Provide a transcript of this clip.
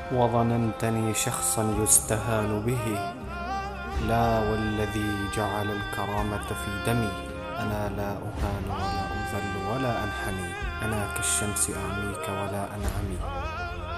وظننتني شخصا يستهان به. لا، والذي جعل الكرامة في دمي. أنا لا أهان ولا أذل ولا أنحني. أنا كالشمس أعميك ولا أنعمي.